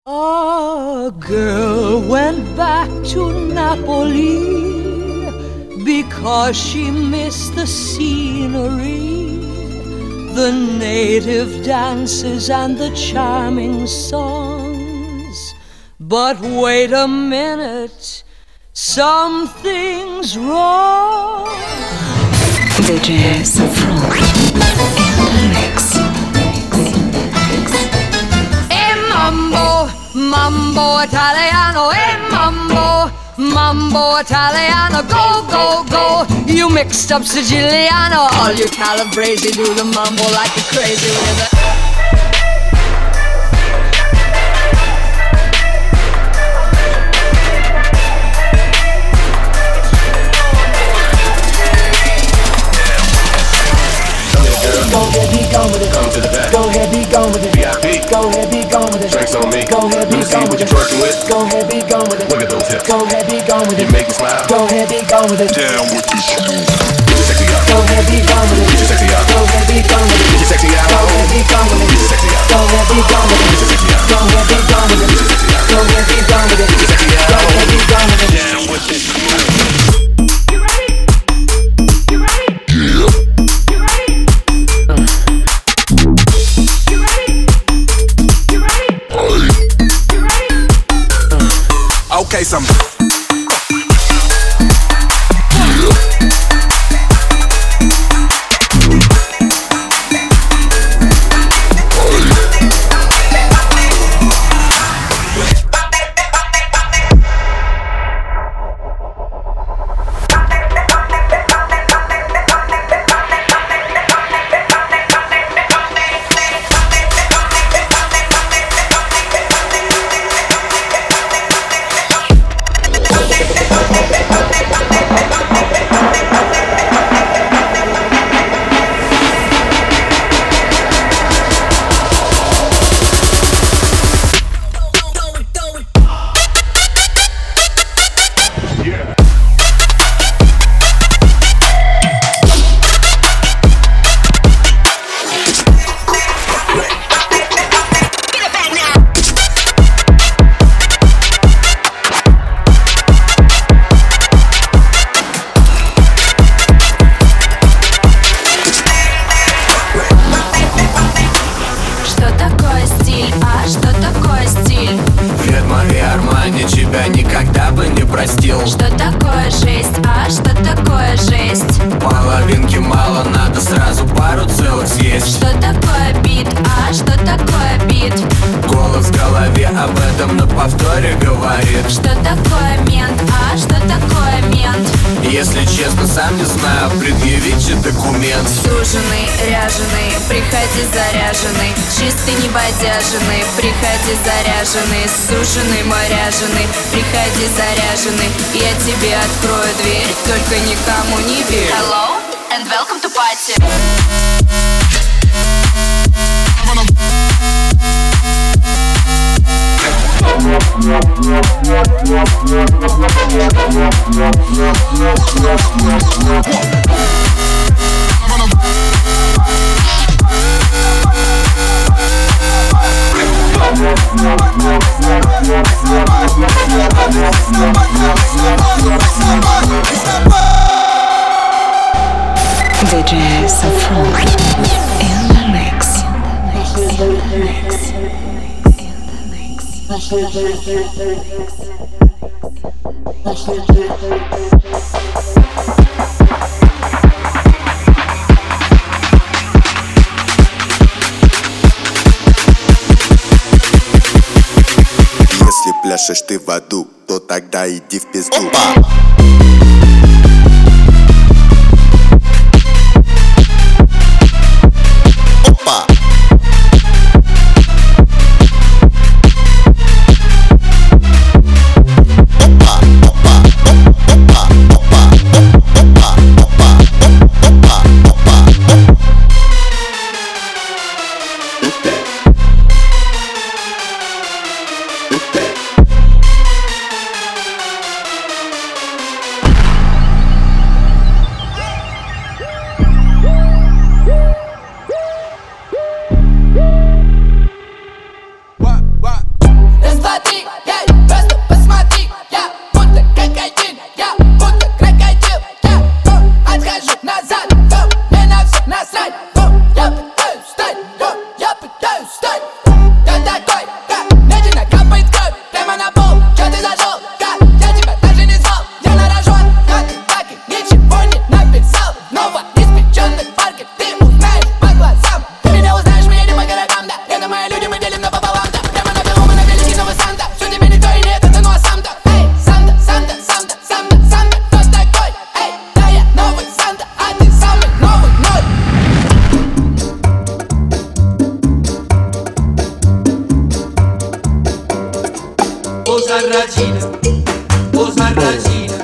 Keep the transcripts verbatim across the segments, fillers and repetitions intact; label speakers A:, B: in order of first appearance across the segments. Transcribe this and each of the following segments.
A: A girl went back to Napoli because she missed the scenery, the native dances and the charming songs. But wait a minute, something's wrong.
B: D J Saffron in the mix.
A: Mambo, mambo Italiano, eh mambo, mambo Italiano, go, go, go. You mixed up Siciliano, all you Calabrese do the mambo like a crazy with it.
C: Go ahead, be gone with it.
D: Come to the back.
C: Go ahead, be gone with it.
D: V I P.
C: Go ahead, be gone with it.
D: Drinks on me.
C: Go ahead, be
D: Let me see
C: gone
D: what
C: with
D: you're
C: it.
D: twerking with.
C: Go ahead, be gone with it.
D: Look at those hips.
C: Go ahead, be gone with
D: You
C: it.
D: make me smile.
C: Go ahead, be gone with it.
D: Down with this shit. Get your sexy out.
C: Go ahead, be gone with it.
D: Get your sexy out.
C: Go ahead, be gone with it.
D: Get your sexy out.
C: Go ahead, be gone with it.
D: Get your sexy out.
C: Go ahead, be gone with it.
D: Get your sexy out.
C: Go ahead, be gone with it.
D: Get your sexy out.
C: Go ahead, be gone with it.
D: Get your sexy out.
C: Go ahead, be gone with it.
D: Down with this shit.
E: You ready? You ready?
D: Yeah.
E: You ready? You ready? You ready? You ready?
D: Okay, some.
F: Что такое жесть, а что такое жесть?
G: Половинки мало, надо сразу пару целых съесть.
F: Что такое бит, а что такое бит?
G: Голос в голове об этом на повторе говорит.
F: Что такое мент, а что такое мент?
G: Если честно, сам не знаю, предъявите документ.
F: Суженый, ряженый, приходи заряженный. Чистый, не бодяженный, приходи заряженный. Суженый, мой ряженый, приходи заряженный. Я тебе открою дверь, только никому не верь. Hello and welcome to party.
B: D J Saffron in the mix. In the mix. In the
H: Если пляшешь ты в аду, то тогда иди в пизду. Опа! Опа!
I: Sarracina, oh Sarracina,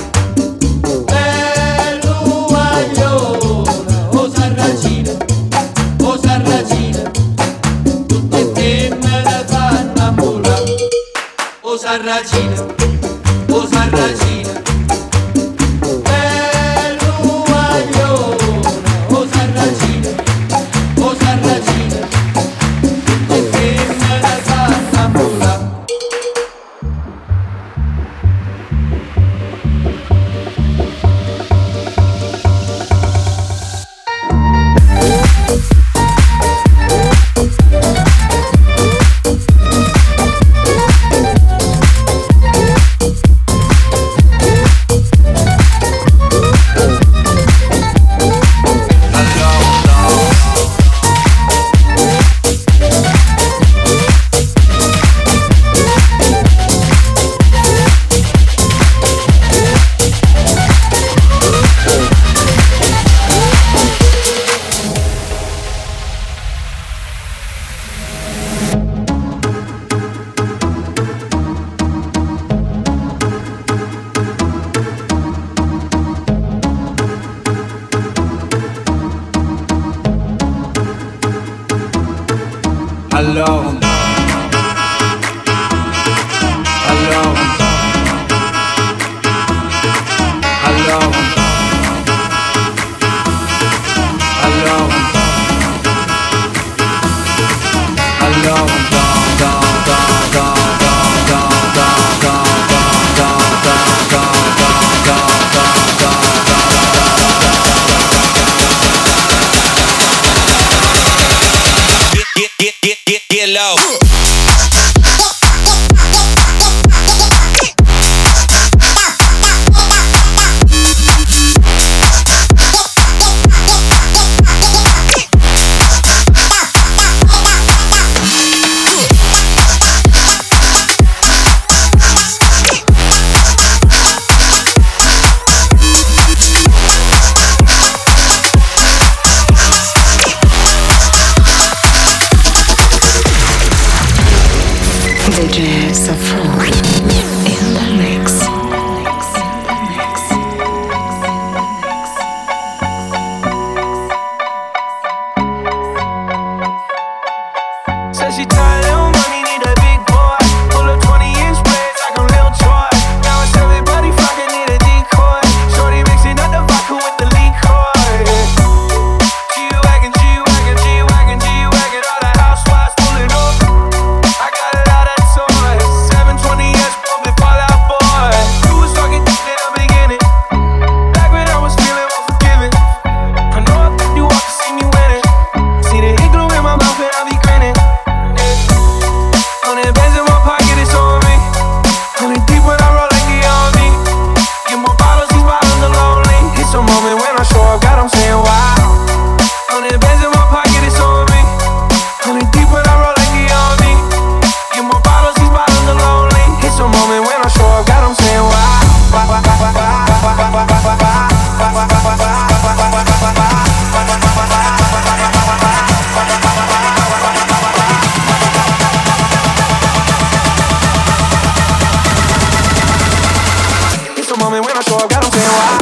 I: bello guagliona, oh Sarracina, oh Sarracina, tutte femmine fanno innamorare, oh Sarracina, oh Sarracina, bello guagliona, oh Sarracina, oh Sarracina, tutte femmine fanno innamorare.
G: Hello. Hello. Hello. Hello. Hello. Da da da da da da da da da da da Get get get get get low.
B: D J Saffron in the mix.
J: Said she tired, little money, need a big boy. Pull up twenty inch braids like I'm Lil Troy. Now it's everybody flocking, need a decoy. Shorty mixing up the vodka with the liquor. G-Wagon, G-Wagon, G-Wagon, G-Wagon. All the housewives pulling up. I got a lot of toys. seven twenty S, bumping Fallout Boy. You was talking in the beginning. Back when I was feeling unforgiving. I know I think you want to see me winning. See the igloo in my mouth and I be grinning. Hundred bands in my pocket, it's on me. Hundred deep when I roll like it on me. Get more bottles, these bottles are lonely. It's a moment when I show up, God, I'm saying wow. Hundred bands in my pocket, it's on me. Hundred deep when I roll like it on me. Get more bottles, these bottles are lonely. It's a moment when I show up, God, I'm saying wow. It's a moment when I show up, God, I'm saying wow.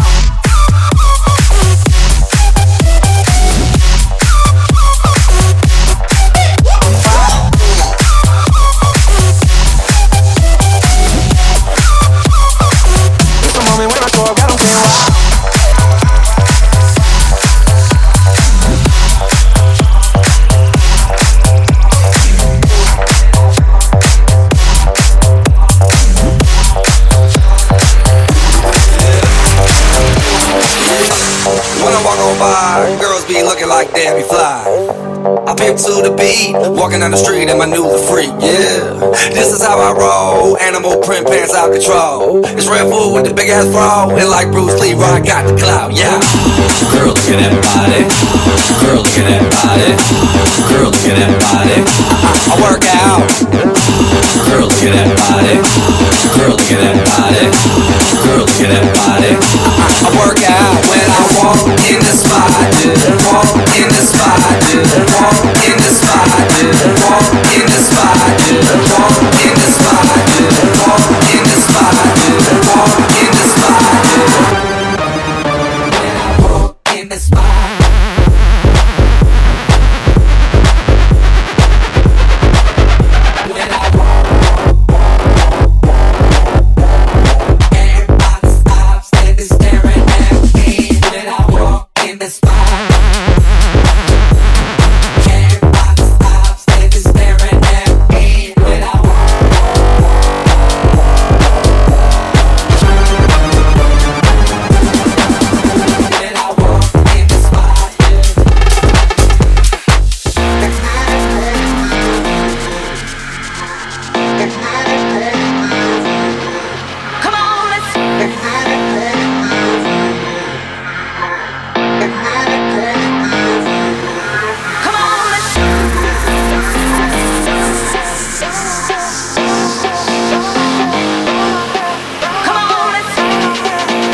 J: It's a moment when I show up, God, I'm saying wow.
K: When I walk on by, girls be looking like Debbie Fly. I pimp to the beat, walking down the street in my new freak, yeah. This is how I roll, animal print pants out control. It's Red Bull with the big ass bra, and like Bruce Lee, I got the clout, yeah. Girl, look at everybody. Girl, look at everybody. Girl, look at everybody. I, I work out. Girl, look at everybody. Girl, look at everybody. Girl, look at everybody. I, I work out when I walk in the spot, yeah. Walk in the spot, yeah. Walk in the spot, yeah. Walk in the spot, yeah. Walk in the spot, yeah. Walk
F: Come on, let's. Come on, let's. Come on, let's.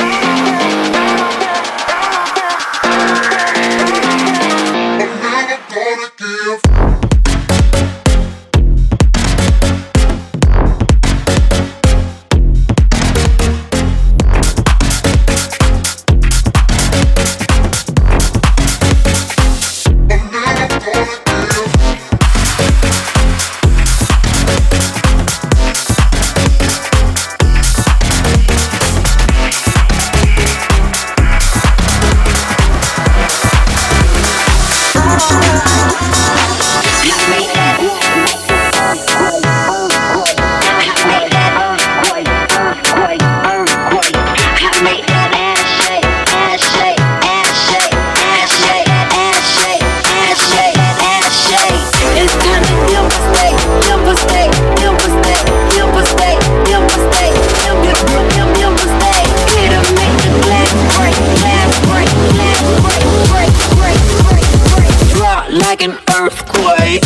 L: Like an earthquake.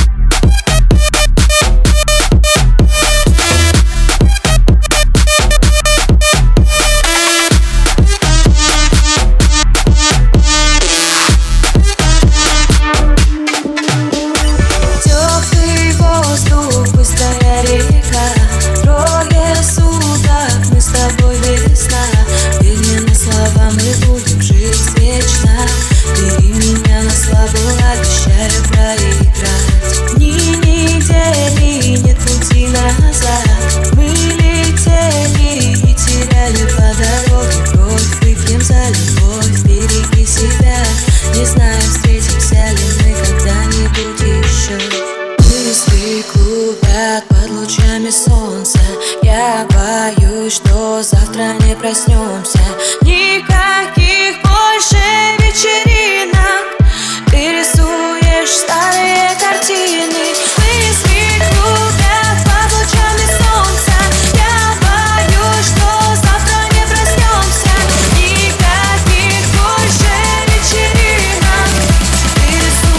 F: Теплый воздух, быстрая река, трое суток мы с тобой весна. Верными словам мы будем жить вечно. Бери меня на слабо, обещаю проиграть. Ни недели, нет пути назад. Мы летели и теряли по дороге кровь. Выпьем за любовь, береги себя. Не знаю, встретимся ли мы когда-нибудь еще. Мысли клубят под лучами солнца. Я боюсь, что завтра не проснемся. Никаких больше вечеринок. Ты рисуешь старые картины. Мысли клубят под лучами солнца. Я боюсь, что завтра не проснемся. Никаких больше вечеринок. Ты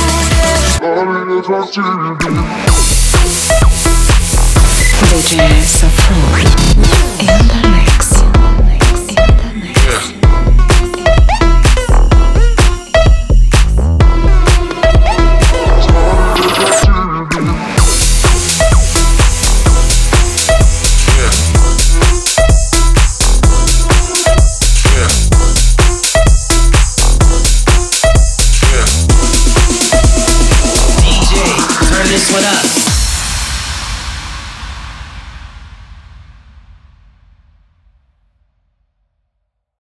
F: рисуешь.
B: ди джей Saffron in the mix.